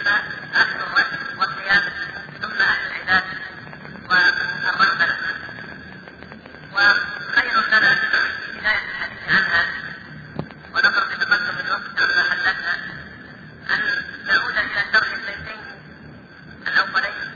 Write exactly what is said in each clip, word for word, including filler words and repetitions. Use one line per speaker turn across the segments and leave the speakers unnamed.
أهل الرد والقيام، ثم أهل العباد والرغبة. وخير لنا في بداية الحديث عنها ونظر بتقدم الوقت عما حدثنا أن نعود إلى شرح البيتين الأولين،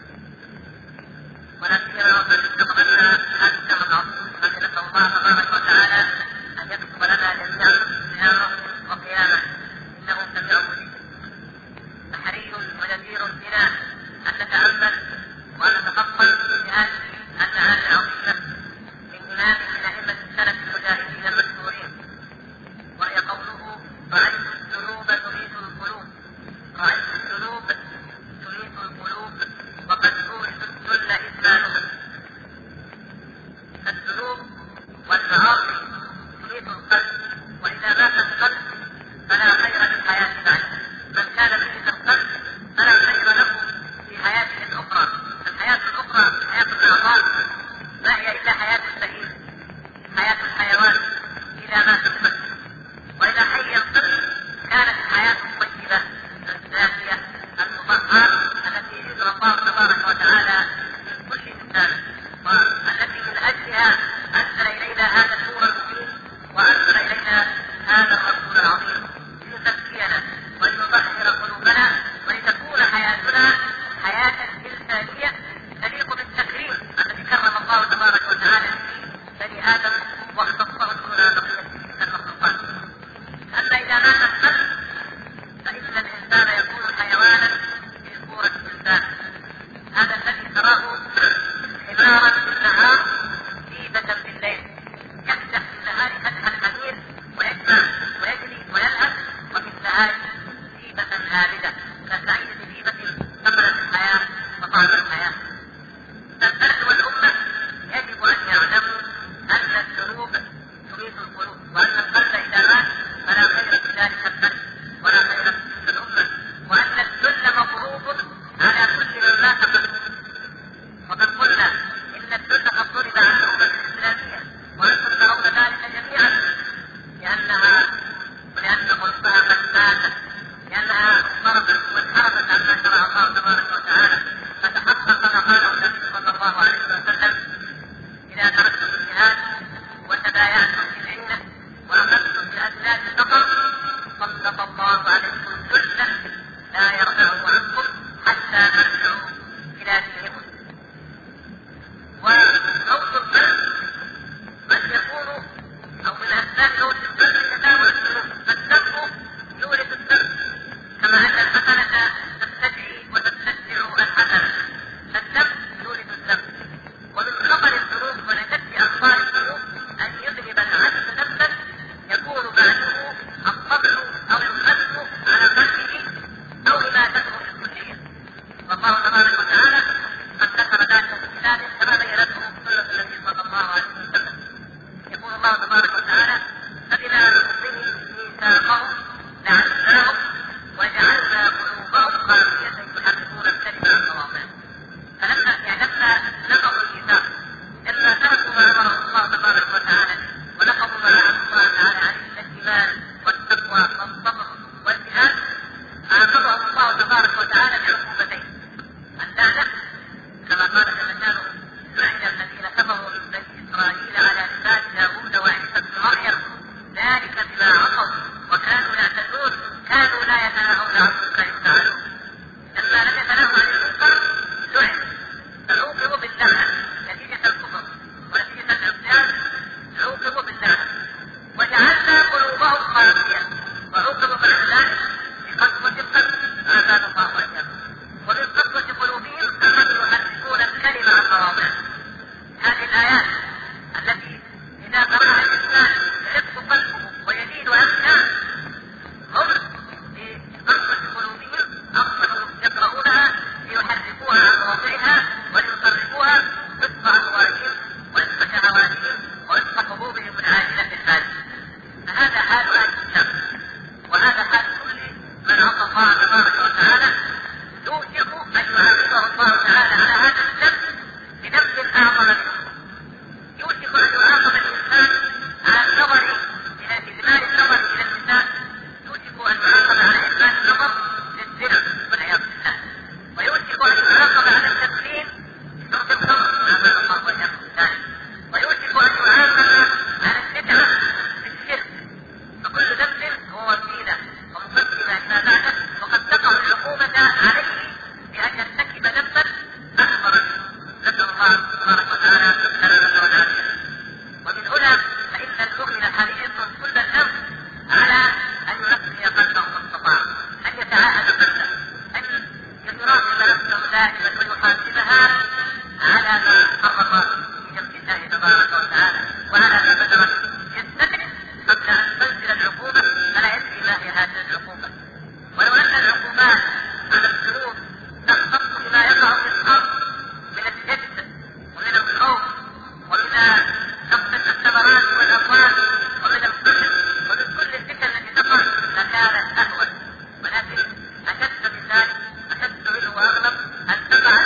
ولا سيما وقد استقبلنا هذا الشهر العظيم الذي نسأل الله تبارك وتعالى أن يكتب لنا جميعا صيامه وقيامه إنه سميع مجيب. فحري وجدير بنا أن نتأمل وأن نتفقد في هذه المعاني العظيمة من إمام من أئمة السلف المجاهدين المشهورين، وهي قوله: رأيت الذنوب تميت القلوب، رأيت الذنوب تميت القلوب وقد أورث الذل إثمانهم. الذنوب والمعاصي تميت القلب، وإذا مات القلب فلا خير للحياة بعد. من كان ميت القلب فلا خير له في حياته الأخرى. دائما ويحاسبها على ما حرم في جنب الله تبارك وتعالى وعلى ما بدرت يستدعي قبل ان تنزل العقوبه فلا يدري ما هي هذه العقوبه. ولو ان العقوبات على الذنوب تختص بما يقع في الارض من الجد ومن الخوف ومن نقص الثمرات والاموال ومن القتل ومن كل الفتن التي تقع لكانت اهون، ولكن اشد من ذلك اشد منه واغلب ان تقع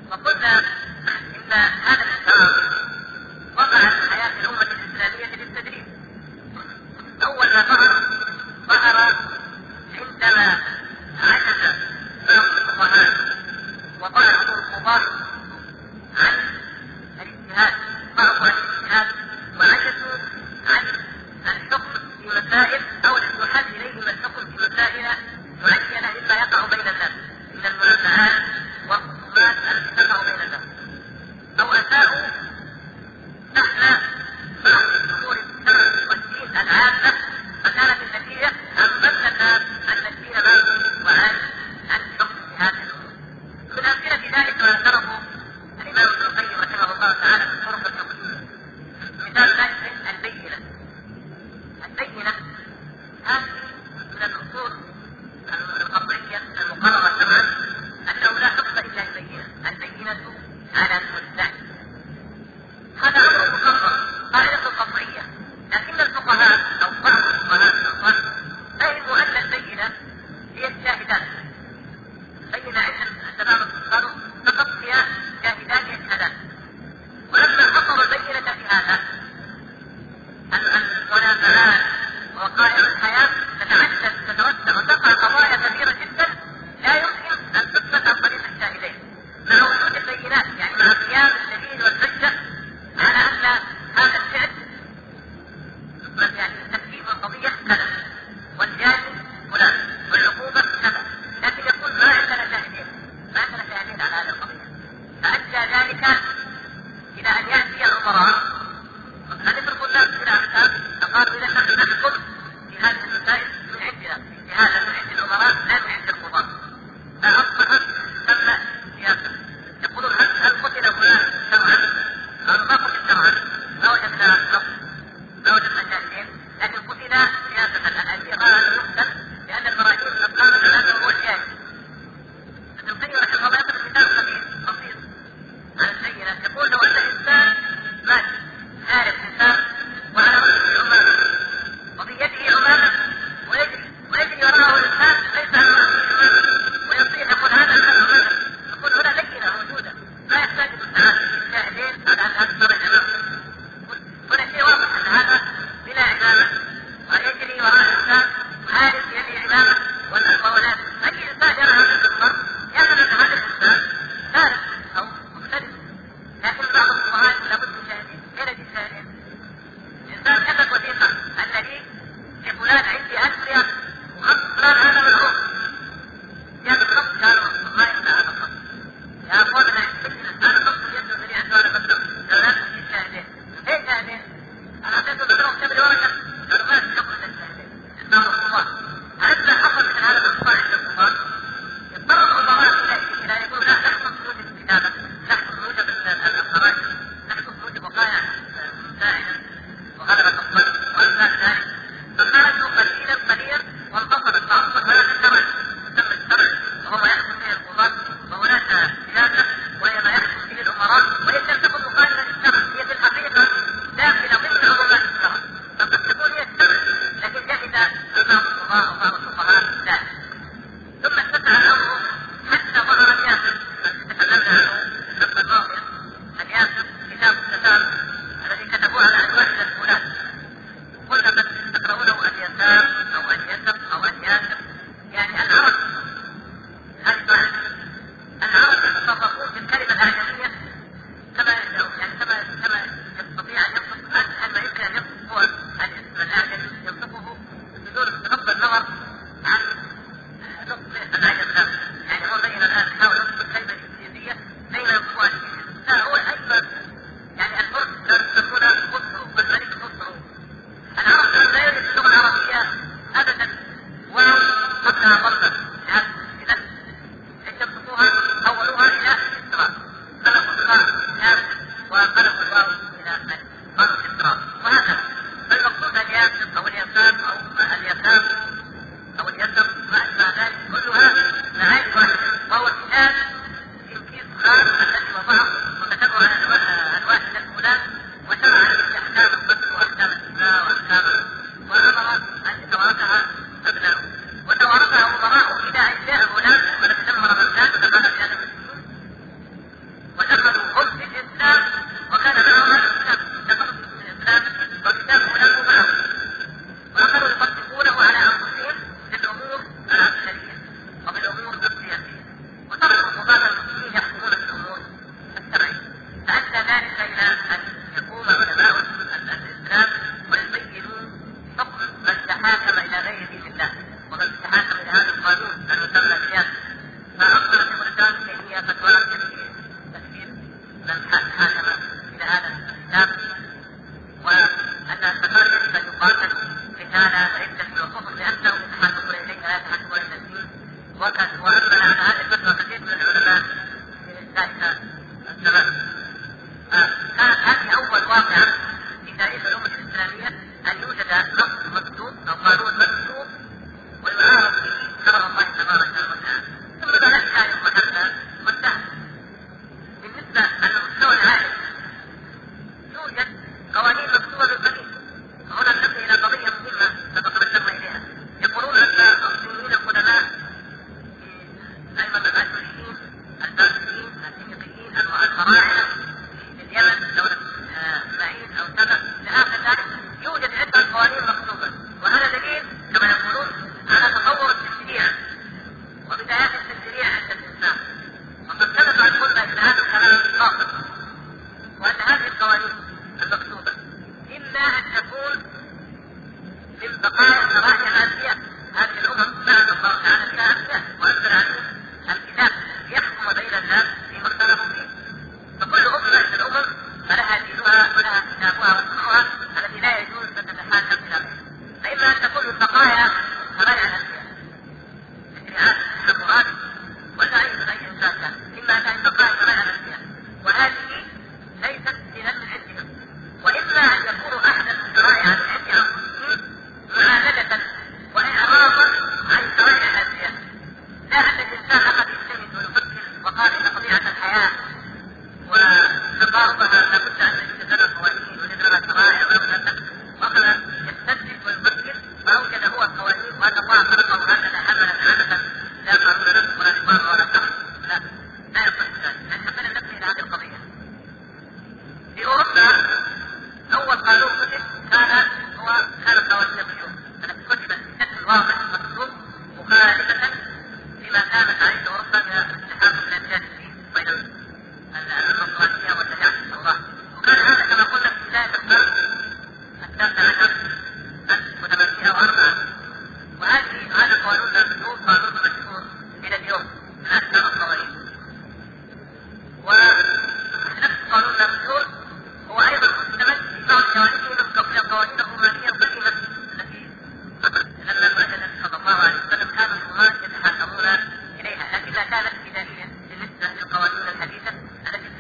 وقلنا إن هذا الإنكار وقع في حياة الأمة الإسلامية بالتدريج. أول ما ظهر ظهر عندما عجز بعض الفقهاء وبعض القضاة عن الاجتهاد، ضعفوا عن الاجتهاد وعجزوا عن الحكم في مسائل أو الانتحال إليهم الحكم في مسائل معينة مما يقع بين الناس من المنازعات والخصومات التي تقع بين الناس، أو أساءوا نحن بعض الأمور الشرع والدين العامة، فكانت النتيجة أن ظن الناس أن الدين باطل وعن عن الحكم في هذه الأمور. من أمثلة ذلك ما ذكره الإمام ابن القيم رحمه الله تعالى في الطرق الفقهية. مثال ذلك البينة. البينة هذه من الأصول القطعية المقررة شرعا أنه لا حكم إلا البينة، البينة على المدعي. هذا أمر مقرر قاعدة قطعية، لكن الفقهاء أو بعض الفقهاء الأخوان فهموا أن البينة هي الشاهدات. بينة عندما قالوا فقط هي شاهدان يشهدان، ولما حصروا البينة في هذا المنازعات ووقائع الحياة تتعدد تتوسع وتقع قضايا كثيرة جدا لا يمكن أن تثبت عن طريق الشاهدين مع وجود البينات، يعني مع من حاكم إلى هذا الكتاب، وأن التفرق سيقاتل قتال عدة وكفر لأنه يتحدثون إليه لا يتحدثون إلى الدين. وأما على هذه الفترة كثير من العلماء في ذلك الزمان. كانت هذه أول واقعة في تاريخ الأمة الإسلامية أن يوجد نص مكتوب أو قانون مكتوب ويعارض به شرع الله تبارك وتعالى. ثم بدأت هذه المحلة وانتهت. بالنسبة للمستوى العالي يوجد قوانين مكتوبة بالقديم. هنا ننتهي إلى قضية مهمة سبق ذكرنا إليها. يقولون أن المسلمين القدماء أيضا الأشوريين البابليين الفينيقيين الفراعنة في اليمن دولة إسماعيل أو سبأ لآخر ذلك يوجد عدة قوانين مكتوبة، وهذا دليل كما يقولون على تطور التشريع وبدايات التشريع عند الإنسان. وقد ثبت عن قلنا إن هذا الكلام باطل، وأن هذه القوانين المكتوبة إما أن تكون من بقايا شرائع الأنبياء. هذه الأمم بعد الله تعالى فيها أنبياء وأنزل عليهم الكتاب يحكم بين الناس فيما اختلفوا فيه. فكل أمة من الأمم فلها دينها ولها كتابها وسنها التي لا يجوز أن تتحاكم إلى غيرها. فإما أن تكون من بقايا شرائع الأنبياء تشريعات الحكومات ولا أي من أي إنسان كان، إما أن تكون بقايا شرائع الأنبياء وهذه ليست دينا من عندهم، وإما أن يكونوا أحدث شرائع من عند أنفسهم معاندة وإعراضا عن شرائع الأنبياء. لا أن الإنسان أخذ يجتهد ويفكر وقال إن طبيعة الحياة وتقاربها لابد أن يوجد لنا قوانين ويوجد لنا شرائع وأخذ يستدرك ويفكر فأوجد هو القوانين وأن الله خلقه هكذا عملا عادة لا قانون له ولا نظام ولا قانون. لا لا يصح ذلك. نحن بدنا ننتبه إلى هذه القضية. في أوروبا أول قانون كتب كان هو كان قوانين القيود التي كتبت بشكل واضح مكتوب مخالفة لما كانت عليه أوروبا من الاتحاد من الأجيال بين النصرانية والشريعة التوراة. وكان هذا كما قلنا في بداية القرن التاسع عشر ألف وثمانمائة وأربعة. وهذه هذا القانون المكتوب قانون مشهور إلى اليوم من أكثر القوانين. ونفس القانون المشهور هو أيضا مستمد في بعض جوانبه من القوانين الرومانية القديمة التي لما بعد النبي صلى الله عليه وسلم كان الرومان يتحاكمون إليها، لكنها كانت بدائية بالنسبة للقوانين الحديثة التي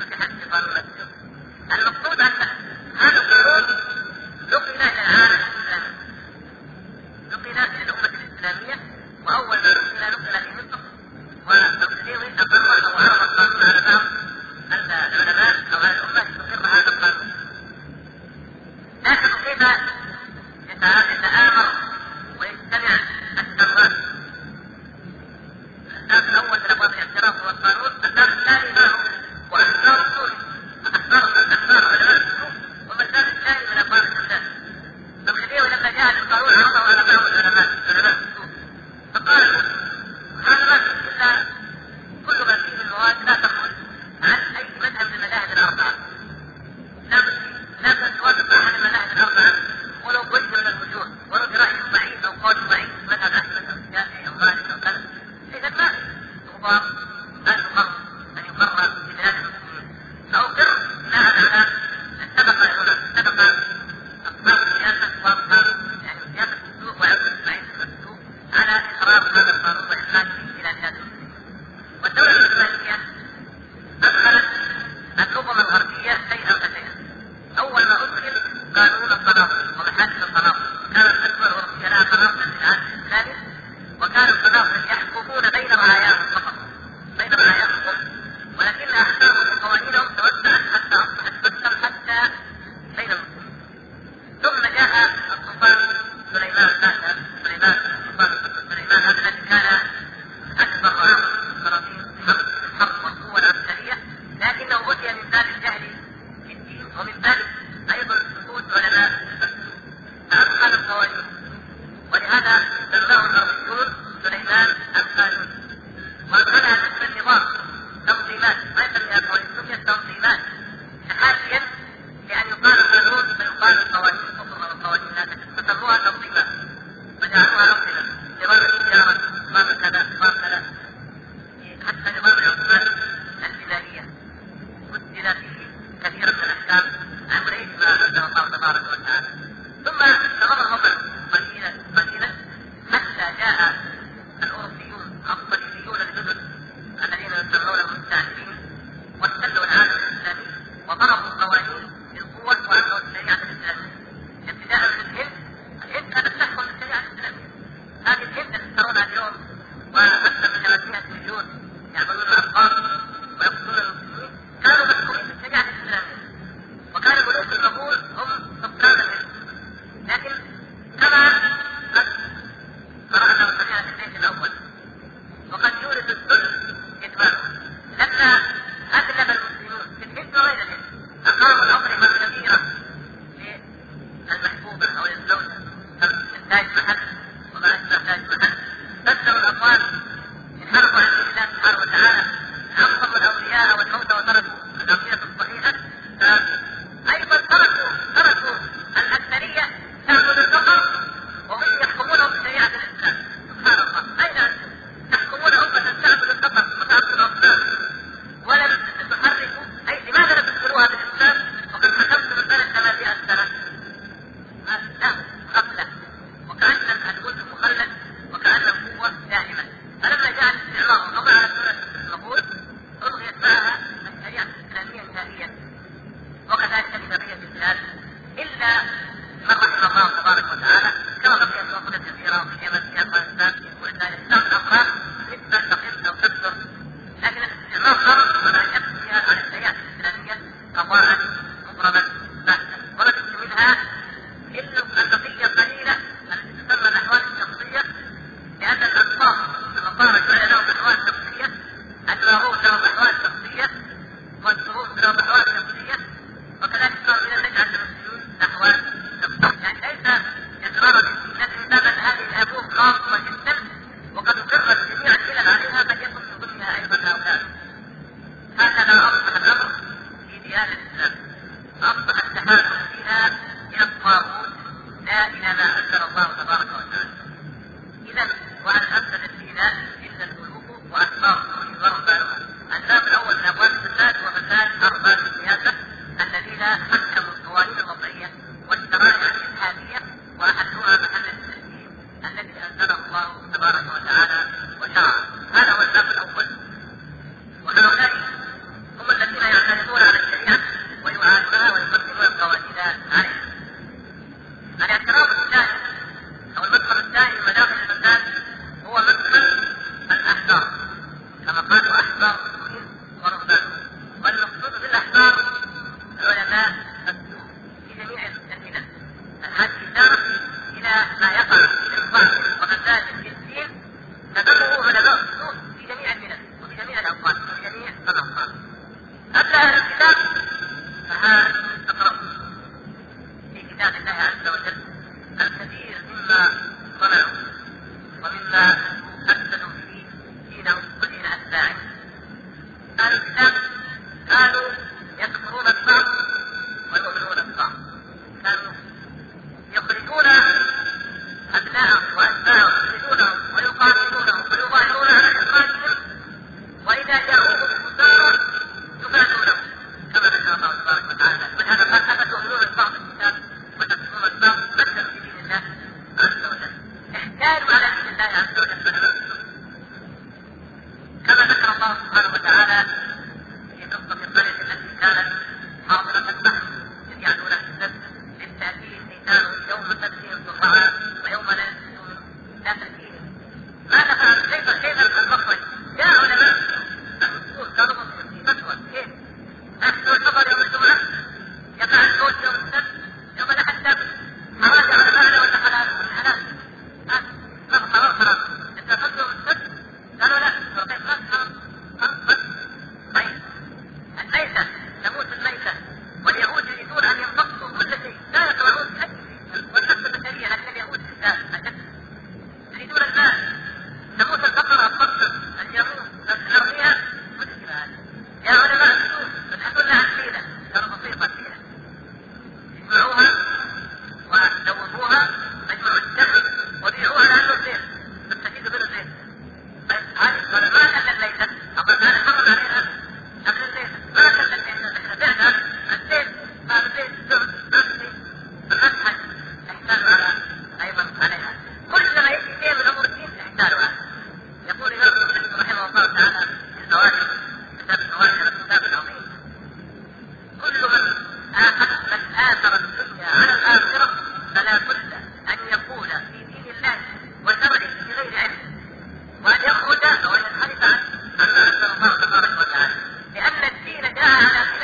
كثيرا من الأحكام عن غير ما أنزل الله تبارك وتعالى. ثم استمر الوضع قليلا قليلا حتى جاء الأوروبيون الصليبيون الجدد الذين يسمون المستعمرين واحتلوا العالم الإسلامي وضربوا قوانين للقوة وأنه الشريعة الإسلامية ابتداء من الهند. الهند كانت تحكم بالشريعة الإسلامية. هذه الهند التي ترونها اليوم وأكثر من ثلاثمائة مليون يعملون الأرقام ويقتلون المسلمين كانوا محكومين بالشريعة الإسلامية، وكان الملوك المغول هم سلطان الهند. لكن كما قد قرأنا وسمعنا في البيت الأول وقد يورث الذل إدمانه، لما أغلب المسلمون في الهند وغير الهند أقاموا الأطعمة الكبيرة للمحبوبة أو للزوجة من تاج محل وما أشبه تاج محل، بدلوا الأموال انحرفوا عن دين الله سبحانه وتعالى، عصموا الأولياء والموتى وتركوا العقيدة الصحيحة. أيضا تركوا تركوا الأكثرية تعبد البقر وهم يحكمونهم بشريعة الإسلام. سبحان الله، أين أنتم تحكمون أمة تعبد البقر وتعبد الأصنام ولم تحركوا؟ أي لماذا لم تدخلوها بالإسلام وقد حكمتم البلد ثلاثمائة سنة؟ لا، غفلة، وكأن الملك مخلد وكأنه قوة دائمة. فلما جاء الاستعمار وقضى على دولة المغول ألغيت معها الشريعة الإسلامية نهائيا، وكذلك بقية البلاد إلا من رحم الله تبارك وتعالى، كما بقيت الوطن الجزيرة وفي اليمن في أفغانستان ولله الإسلام الأمراض نسبة تقل أو تكثر، لكن الاستعمار ضرب ولا يبقى فيها على الشريعة الإسلامية قضاء مضربا بحتا، ولا تجد منها إلا البقية القليلة التي تسمى الأحوال الشخصية، لأن الأنصار النصارى كان لهم أحوال شخصية، اللاهوت لهم أحوال شخصية، والشهود لهم أحوال شخصية، وكذلك صار من النجعة المسلمين أحوال شخصية. يعني ليس إقرار لكن بل هذه الأبواب خاصة جدا وقد أقرت جميع البلاد عليها قد يكون من ضمنها أيضا هؤلاء. هكذا أصبح الأمر في ديار الإسلام.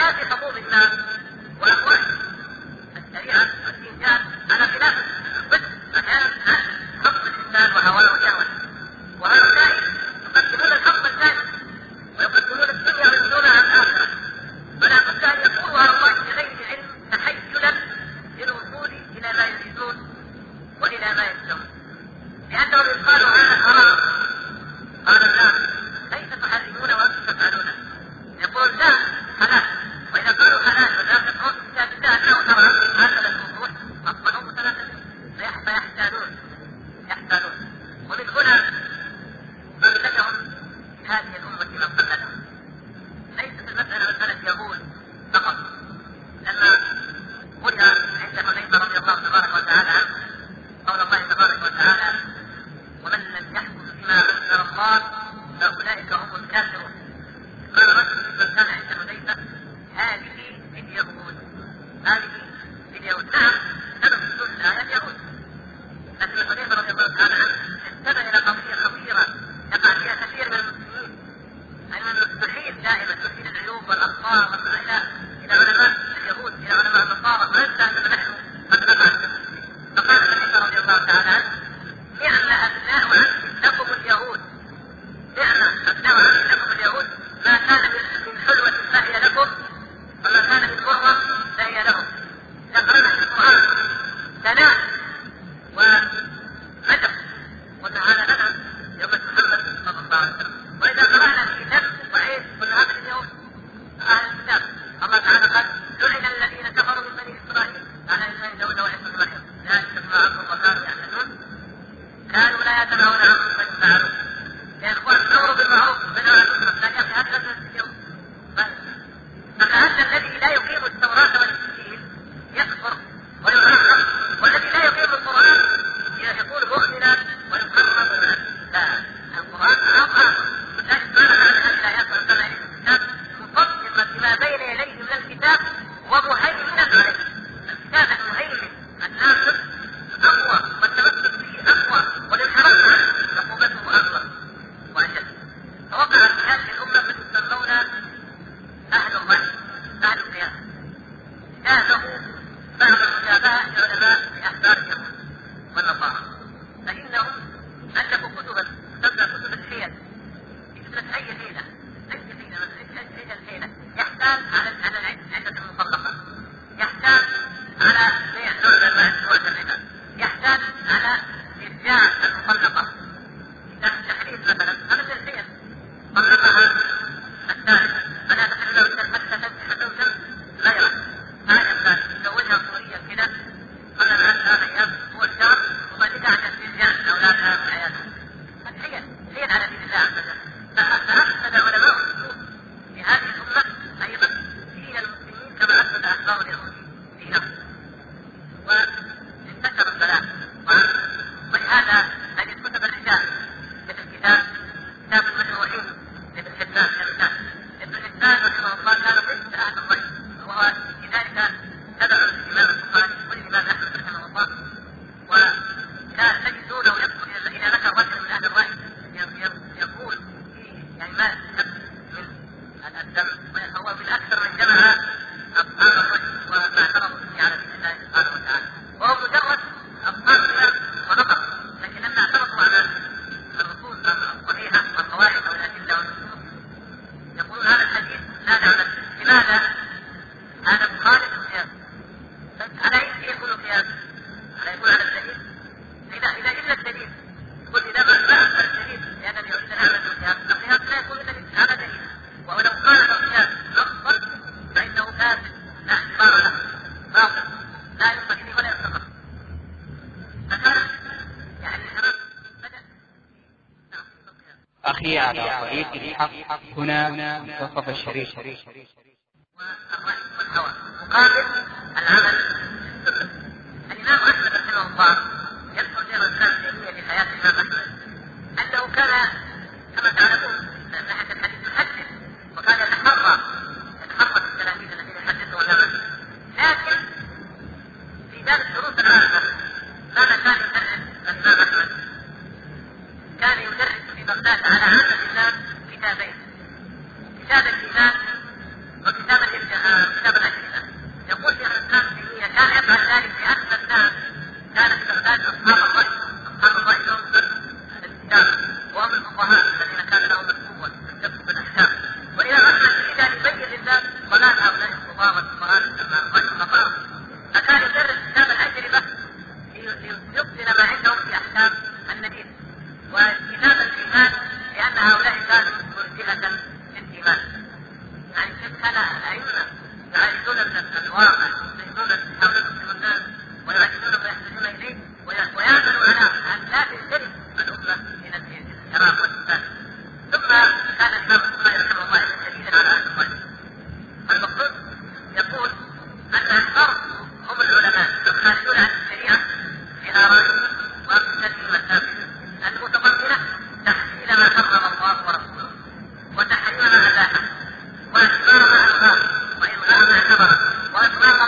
حياة حبوب الناس وأموالهم. الشريعة والدين جاء على خلاف الضد أحيانا حب الإنسان وهواه وشهوته، وهؤلاء يقدمون الحب الثاني ويقدمون الدنيا وينسونها الآخرة. فلا بد أن يقولوا هؤلاء بغير علم تحيلا للوصول إلى ما يريدون وإلى ما يشتهون، لأنهم يقالوا هذا حرام قال لا كيف تحرمون وأنتم تفعلون، يقول لا حلال، وإذا قالوا حلال ولا تفعلون كتاب الله أنه حرام هكذا الوضوح أصبحوا متناسبين فيحتالون يحتالون. ومن هنا قلدهم هذه الأمة من قلدهم. ليست المسألة مسألة يهود فقط، لما قرئ عند حذيفة رضي الله تبارك وتعالى عنه قول الله تبارك وتعالى ومن لم يحكم بما أنزل الله فأولئك هم الكافرون. قال رجل من كان عند حذيفة هذه اليهود هذه اليهود نعم سبب نزول الآية اليهود، لكن حذيفة رضي الله تعالى عنه انتبه إلى قضية خطيرة يقع فيها كثير من المسلمين، أن المستحيل دائما تحيل العيوب والأخطاء إلى إلى علماء اليهود إلى علماء النصارى وينسى أننا نحن قد نقع. فقال حذيفة رضي الله تعالى عنه نعم أبناء عم لكم اليهود، نعم أبناء عم لكم اليهود، ما كان من حلوة فهي لكم وما كان من مرة فهي لهم. ذكرنا في القرآن ثناء ومدح وتعالى لنا يوم محمد صلى الله عليه وسلم. وإذا قرأنا في كتاب وعيد قلنا هذا اليوم أهل الكتاب الله تعالى قال لعن الذين كفروا من بني إسرائيل على لسان داود وعيسى بن مريم ذلك بما عصوا وكانوا يعتدون كانوا لا يتناهون عن منكر فعلوه. يا إخوان الأمر بالمعروف والنهي عن المنكر لا يأتي هذا اليوم. فكأن الذي لا يقيم التوراة والإنجيل يكفر ويعاقب، والذي لا يقيم القرآن يقول مؤمنا ويقرب لا القرآن أعظم. لذلك قال على هذه الآيات وأنزلنا إليكم الكتاب مصدقا بما بين يديه من الكتاب ومهيمنا عليه. الكتاب المهيمن الناصر أقوى والتمسك به أقوى والانحراف عنه عقوبته أكبر وأشد. فوقع في هذه الأمة من يسمون أهل الرأي أهل القياس، جاءه بعض الخلفاء العلماء لأحبار اليهود والنصارى، فإنهم ألفوا كتبا تسمى كتب الحيل، كتبت أي حيلة أي حيلة أي الحيلة يحتاج على على العدة المطلقة، يحتاج على بيع نوع من أنواع الربا، يحتاج على إرجاع المطلقة، تحريف مثلا هذا من الحيل طلقها الثالثة فلا تحل له حتى تنكح زوجا غيره. هذا الثاني تزوجها صوريا كذا قبل أن ثلاث أيام هو الشهر وبعد كده عشان ترجع أولادها في حياتها. الحيل حيل على دين الله عز وجل. فأفسد علماء السلوك في هذه الأمة أيضا دين المسلمين كما أفسد أحبار اليهود دينهم وانتشر البلاء. ولهذا هذه كتب الرجال مثل كتاب كتاب المجروحين لابن حبان ابن حبان رحمه الله كان ضد أهل الرأي، وهو لذلك تبع الإمام البخاري والإمام أحمد رحمه الله، وكان تجدونه يذكر إذا ذكر رجل من أهل الرأي يقول يعني ما يستحب من الدم، وهو بالأكثر من جمع أصحاب الرشد وما اعترضوا به على دين الله سبحانه وتعالى، وهو مجرد أصحاب الإمام ونظر، لكن لما اعترضوا على الرسول الصحيحة والقواعد أو الأدلة والنصوص يقولون هذا الحديث لا نعلم لماذا هذا مخالف القياس. على أي يكون القياس؟ على يكون على الدليل. إذا إذا إلا الدليل يقول إذا ما أثبت الدليل لأنني أريد أن أعمل القياس، القياس لا يكون إلا على دليل، ولو قال القياس نصا فإنه فاسد لا اعتبار له باطل لا ينبغي به ولا يستقر. فكان يعني الحرام بدأ
أخي على طريق الحق هنا منتصف الشريف.
والرأي والهوى مقابل العمل بالسنة. الإمام أحمد رحمه الله يذكر في الإسلام التيمية في حياة الإمام أحمد أنه كان كما تعلمون من ناحية الحديث يحدث، وكان يتحرى يتحرى بالتلاميذ الذين يحدثون الناس، لكن في باب الدروس العامة ماذا كان يدرس الإمام أحمد؟ كان يدرس في بغداد على عامة الناس كتابين، كتاب الإيمان وكتاب الإرجاء الواقع يستيقظون يحاولون الناس ويعجبون ما يحتاجون اليه ويعملوا على ان لا تنجرف الامه من الانحراف والفساد. ثم كان الامام البخاري رحمه الله شديدا على اهل الظلم. المقصود يقول ان الفرد هم العلماء الخارجون عن الشريعه بآرائهم وامثالهم الثابته المتضمنه تحليل ما حرم الله ورسوله وتحريم ما اباحه واخبار ما الغاه والغاء ما حرم واطلاق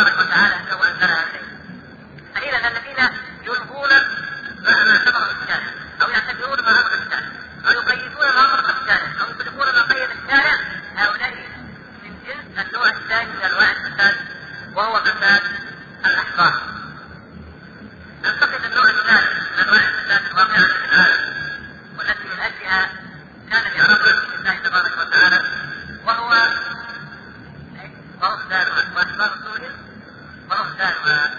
تبارك وتعالى انه انزلها اليه. فاذا الذين يلغون ما سبق الشارع او يعتبرون ما امر الشارع او يقيدون ما امر الشارع او يطلقون ما قيد الشارع، هؤلاء من جنس النوع الثاني من انواع الفساد، وهو فساد الاحبار. ننتقل النوع الثالث من انواع الفساد الواقعه في العالم، والتي من اجلها كان الاعراض عن الله تبارك وتعالى، وهو ورهبانها واحبار سوريا ورهبانها.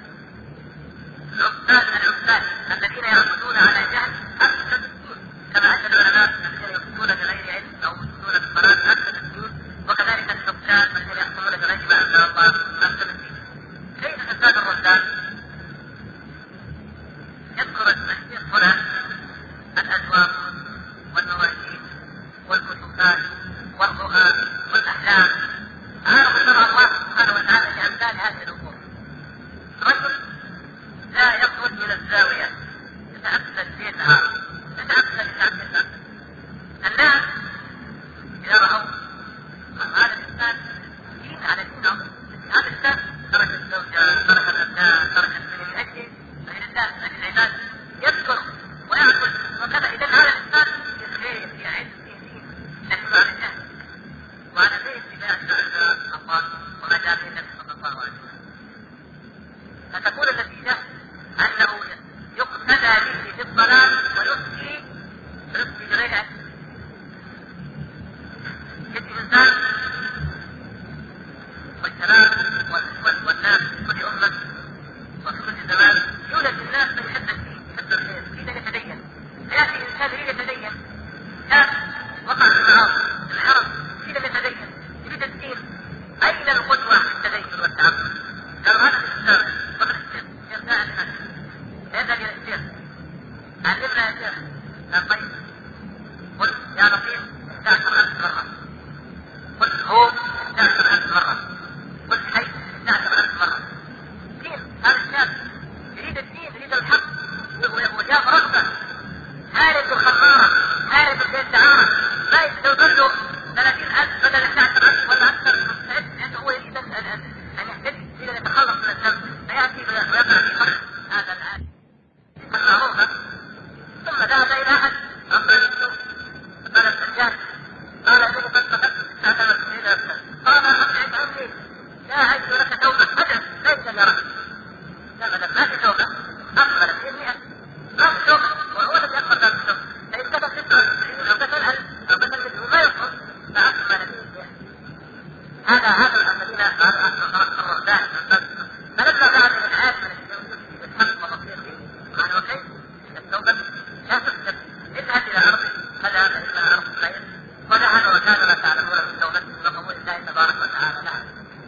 العباد العباد الذين يعبدون على جهل أفسد الدين، كما أن العلماء الذين يفتون بغير علم أو يفتون بالصلاة أفسد الدين، وكذلك الحكام الذين يحكمون بغير ما أنزل الله أفسد الدين. كيف فساد الرهبان؟ يذكر الشيخ هنا الأزواج والمواجيد والكتبات والرؤى والأحلام. عارف شرع الله سبحانه وتعالى لأمثال هذه الأمور. رجل لا يخرج من الزاوية يتأكد بيتها يتأكد بتعبدها. الناس إذا رأوا هذا الإنسان دين على دين عظيم، هذا الإنسان ترك الزوجة ترك الأبناء ترك الدنيا من أجل غير الله من العباد، يذكر ويأكل وكذا. إذا هذا الإنسان في خير في علم في دين، لكن على الجهل وعلى غير اتباع الله وما جاء به النبي صلى الله عليه وسلم. فتكون النتيجة أنه يقتدى به في الضلال ويفتي يفتي بغير علم. يأتي الإنسان والشباب والناس في كل أمة وفي كل زمان يولد الناس من يحب الدين يحب الخير يريد أن يتدين. فيأتي الإنسان يريد يتدين، كان وقع في المعاصي الحرم يريد أن يتدين يريد الدين. أين القدوة في التدين والتعبد؟ قالوا هذا في الإسلام. قبل الشيخ الشيخ ساعد الناس يذهب إلى الشيخ علمنا يا شيخ. قال طيب قل يا لطيف احدى عشر ألف مرة، قل هو احدى عشر ألف مرة، قل حي احدى عشر ألف مرة. دين هذا الشاب يريد الدين يريد الحق وجاب رغبة هارب الخمارة هارب الدعارة ما يستوصل له ثلاثين ألف بدل احدى عشر ألف ولا أكثر، لأنه هو يريد أن يهتدي يريد أن يتخلص من الذنب، فيأتي ويقع في حق هذا العالم المعروفة. ثم ذهب إلى أحد أمر السوء قال السجاد قال إنه قد فقدت هذا مسؤولين نفسه. قال أبعد عني لا أجد لك توبة أبدا ليس يراك. لا أبدا ما في توبة أقبل في المئة ما في توبة وهو الذي أقبل هذا التوبة. فإن كتب ستة وتسعين أو كتب ألف أو كتب مثله ما يقبل فأقبل في المئة. هذا هذا الذين الرهبان. فلما ذهب إلى العالم الذي يوجد في الحق والبصير به قال وكيف التوبة لا تكتب اذهب إلى أرض فلا إلا أرض خير وذهب وكان ما تعلمون من توبته وقبول الله تبارك وتعالى لها.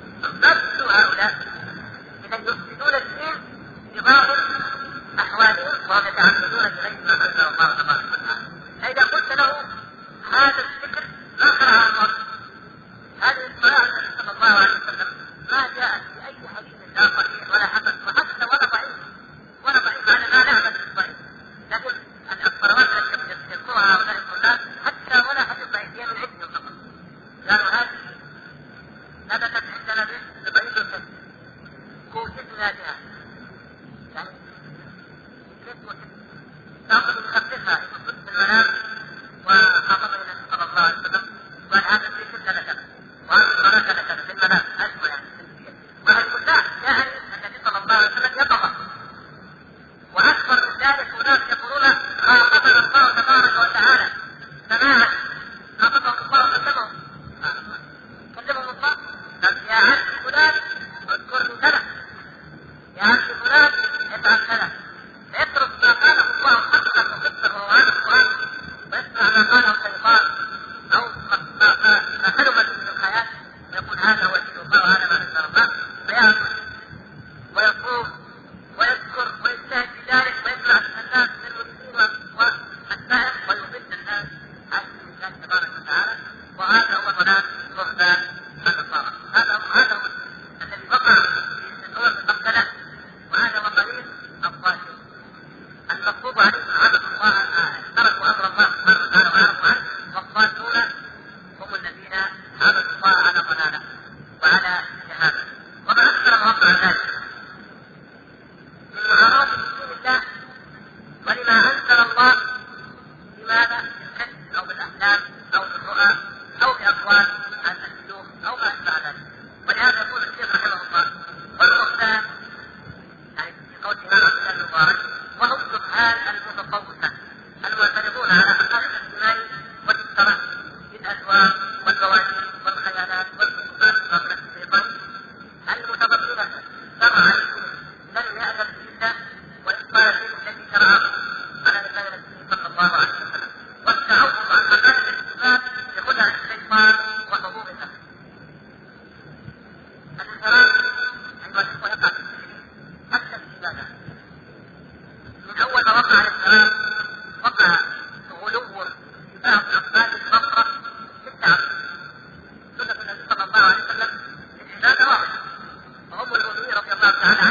نفس هؤلاء إذا يفسدون الدين بظاهر أحوالهم وهم يتعبدون بغير ما أنزل الله تبارك وتعالى. فإذا قلت له هذا الذكر ما قرأ المرء هذه الصلاة النبي صلى الله عليه وسلم ما جاءت في أي حديث لا صحيح ولا حسن وحتى ولا ضعيف ولا ضعيف على ما نعمل بالضعيف، لكن الصلوات التي يذكرها هؤلاء الناس حتى ولا حديث ضعيف هي من عندهم فقط. قالوا هذه ثبتت عندنا بضعيف الكذب كوشتنا بها، يعني كيف تأخذ بخففها كنت في المنام وخاطب النبي صلى الله عليه وسلم قال هذا الذكر كذا كذا وهذا الصلاة كذا كذا في المنام أسمع يعني وهذه كلها جاءني النبي صلى الله عليه وسلم يطبق. وأكبر من ذلك أناس يقولون خاطبنا الله تبارك وتعالى سماعا خاطبهم الله وكلمهم كلمهم الله قال يا عبد فلان اذكرني كذا يا عبد فلان افعل كذا اترك ما مع ذلك من معارض دين الله ولما أنزل الله، لماذا؟ بالحس أو بالأحلام أو بالرؤى أو بأقوال الشيوخ أو ما أشبه ذلك. ولهذا يقول الشيخ رحمه الله: والرهبان يعني في قول الإمام عبد الله المبارك: وهم الجهال المتصوفة المعترضون على حقائق الاجتماع والاشتراك بالأزواج والبواجير والخيالات والحكومات ومبلغ الشيطان المتضمنة شرعا لم يأذن به وإبطال الدين الذي شرعه على لسان النبي صلى الله عليه وسلم، والتعوض عن حقائق الاجتماع بخدع الشيطان وحبوب النفس. الانحراف أيها الإخوة يقع في حتى في العبادة. من أول ما وقع الانحراف وقع غلو في بعض أقبال البصرة في التعبد. سنة النبي صلى الله عليه وسلم العبادة واحدة، وهم المؤمنين رضي الله تعالى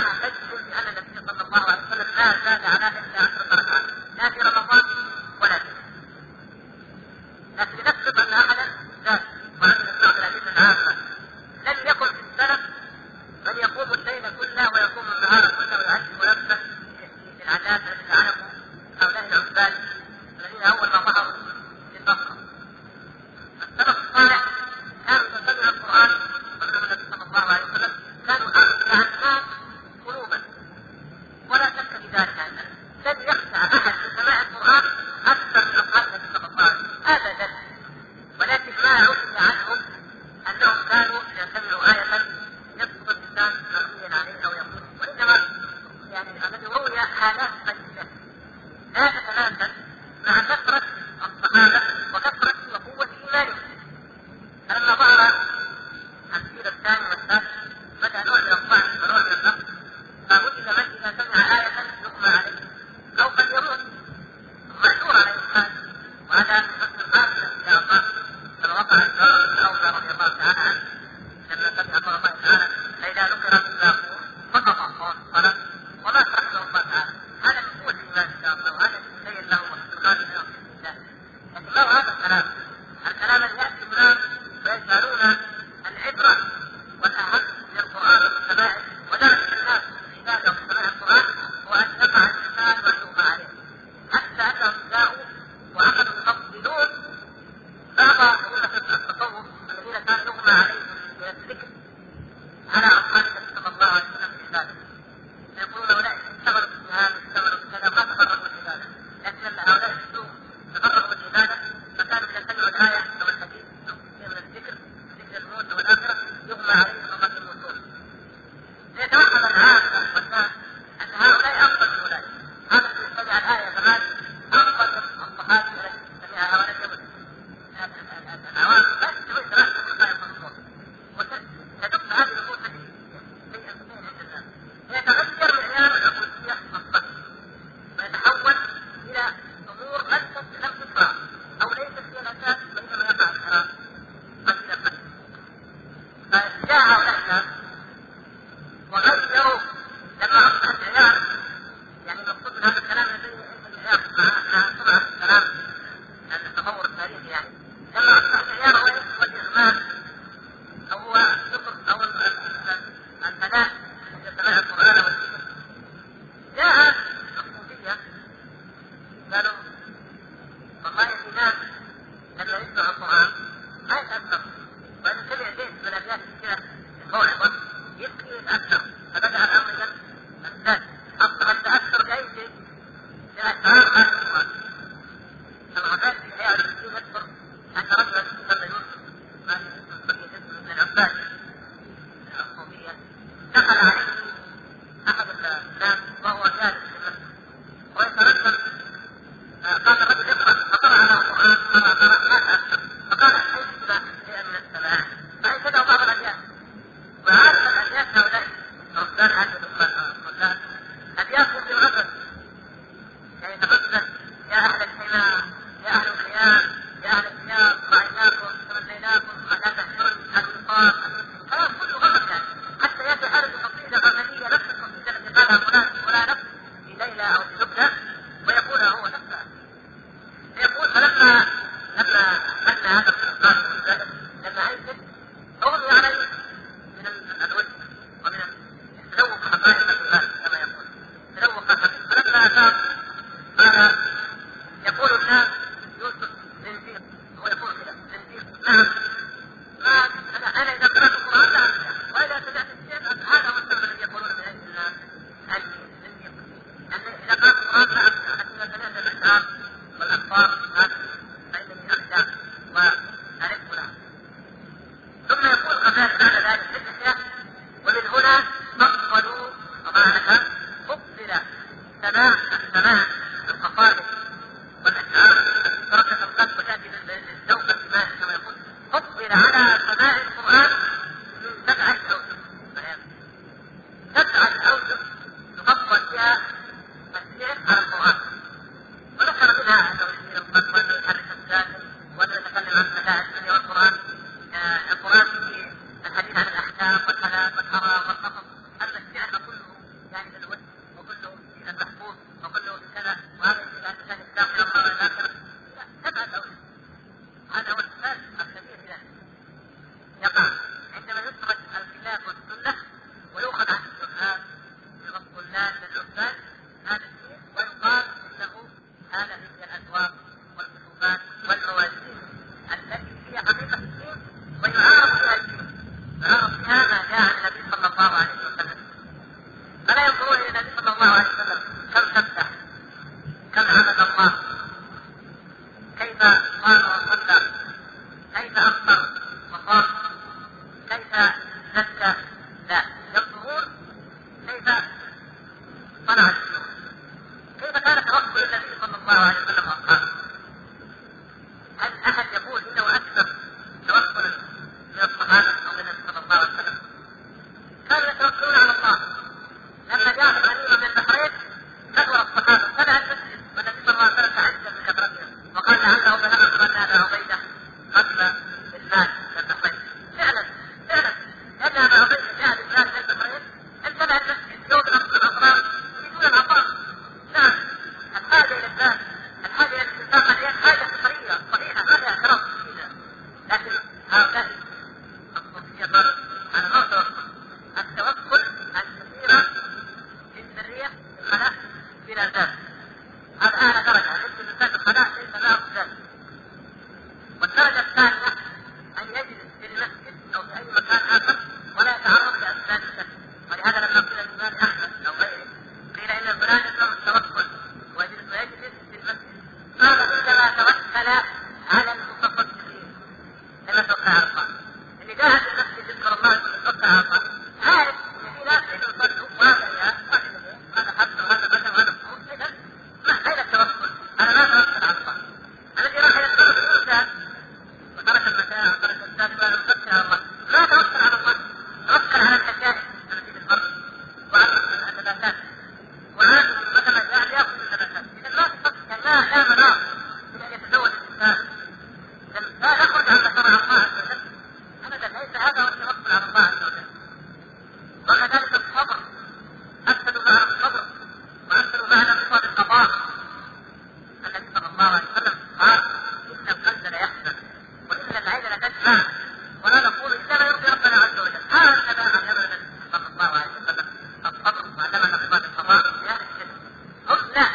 الامتيازات. هذا اعلى درجه، مثل الانسان الخلاء ليس له ذلك. والدرجه الثانيه ان يجلس في المسجد او في اي مكان اخر ولا يتعرض لاسباب الشك. ولهذا لما قيل الامام احمد او غيره قيل ان الفلان يكره التوكل ويجلس ويجلس في المسجد، قال انما توكل على المتصدقين لما توكل على الله. اللي قاعد في المسجد يذكر الله يتوكل على الله، عارف ان في ناس يصلوا وهذا يا هذا حتى وهذا بدل وهذا مصوم، اذا ما غير التوكل، انا لا اتوكل على الله. الذي راح يتوكل الانسان وترك المتاع وترك الزاد ولا يتوكل على الله، لا توكل على الله، توكل على الحشائش التي في الارض وعلى النباتات، وعلى مثلا قاعد ياكل النباتات. اذا لا تفكر، لا لا مناص الى ان يتزوج الانسان، لا يخرج عن شرع الله عز وجل ابدا، ليس هذا هو التوكل على الله عز وجل. وكذلك الصبر، اكثر معنى الصبر واكثر معنى رضا بالقضاء. النبي صلى الله عليه وسلم قال ان القلب لا يحزن وان العين لا تدمع ولا نقول الا ما يرضي ربنا عز وجل. هذا علمنا النبي صلى الله عليه وسلم الصبر، وعلمنا رضا بالقضاء في هذا الشيء. هم لا،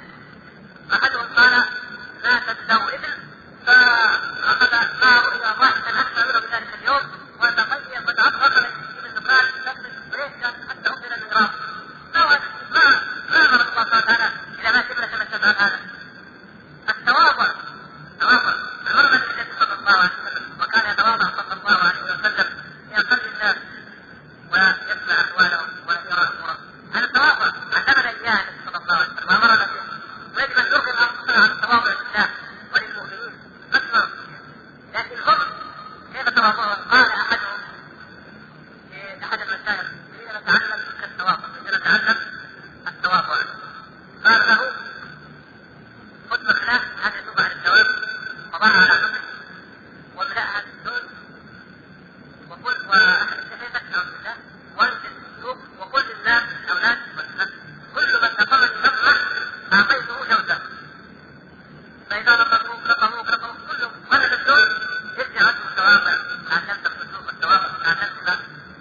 احدهم قال لا تبدأوا ابن فأخذ ما رؤيا واحدا أكثر منه بذلك اليوم وتغير وتعطل من الدخان وليس حتى أمر المغراب. ما ما ما أمر الله تعالى إلى ما تبلى كما تفعل هذا. التواضع تواضع أمرنا النبي صلى الله عليه وسلم، وكان يتواضع صلى الله عليه وسلم في أقل الناس ويسمع أقوالهم ويرى أمورهم. هذا التواضع علمنا إياه النبي صلى الله عليه وسلم وأمرنا به، ويجب أن نرغم أنفسنا على التواضع لله وللمؤمنين أكثر. لكن هم كيف تواضعوا؟ قال أحدهم في أحد المشايخ حين نتعلم التواضع، حين نتعلم التواضع قال له خذ مخلاة هذه تبع الدواب وضعها على حمل واملأها بالزوج وقل وأحد الشهيدك أعوذ بالله وانزل السوق وقل للناس الأولاد والناس كل من تقرب نظرة أعطيته جوزة، فإذا نظروا كفروا كفروا كلهم ولد الزوج يرجع عنه التواضع. تعلمت الخشوع والتواضع، تعلمت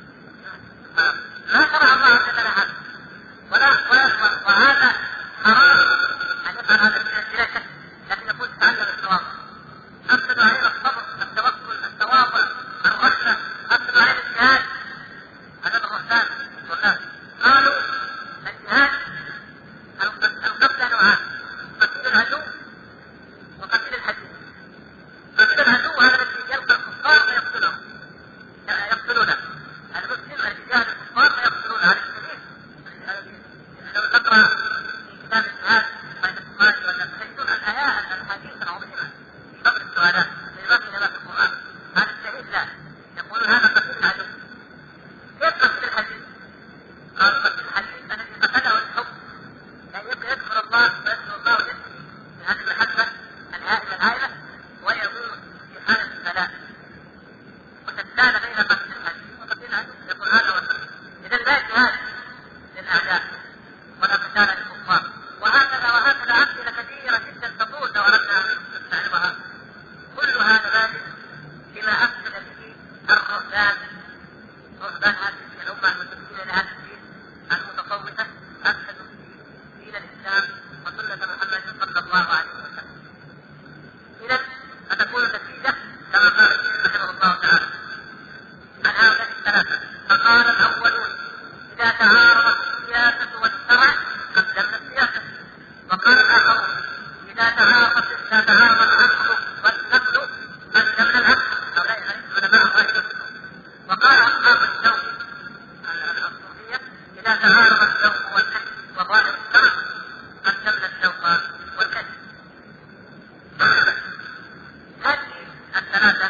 لا شرع الله عز وجل هذا ولا وهذا حرام أن يفعل هذا الشيء بلا شك، لكن يقول تعلم التواضع. أفسد علينا الصبر، التوكل، التواضع، الرحمة، أفسد علينا الجهاد. هذا الرحمن والناس قالوا الجهاد القتل نوعان، قتل العدو وقتل الحديث. قتل العدو هذا الذي يلقى الكفار فيقتلهم يقتلونه، المسلم الذي يجاهد الكفار فيقتلونه. على السبيل لو تقرأ في كتاب الجهاد بين البخاري والتحديثون الآيات الحديث العظيمة في قبل السؤالات في نبات القرآن. هذا الشهيد لا، يقولون هذا قتل العدو. كيف قتل الحديث؟ قال قتل الحديث الذي قتله الحب، يعني يبقى يذكر الله ويذكر الله ويذكر هذه المحبة الهائلة الهائلة ويكون في حالة البلاء وتتالى بين قتل الحديث وقتل العدو، يقول هذا وسلم. إذا لا جهاد للأعداء ولا قتال للكفار. وهكذا وهكذا أمثلة كثيرة جدا تطول لو أردنا أن نستعرضها. كل هذا ذلك بما أفسد به الرهبان، رهبان هذه الأمة المنتسبين لهذا الدين المتصوفة، أفسدوا دين الإسلام وسنة محمد صلى الله عليه وسلم. إذا فتكون النتيجة كما قال رحمه الله تعالى عن هؤلاء الثلاثة. فقال الأولون إذا تعارضت السياسة والشرع قدمنا السياسة، وقال الآخرون إذا تعارضت إذا تعارض العقل والنقل قدمنا العقل. هؤلاء علماء الله. وقال أصحاب الذوق الصوفية إذا تعارض الذوق والكذب وظاهر الشرع قدمنا الذوق والكذب. هذه الثلاثة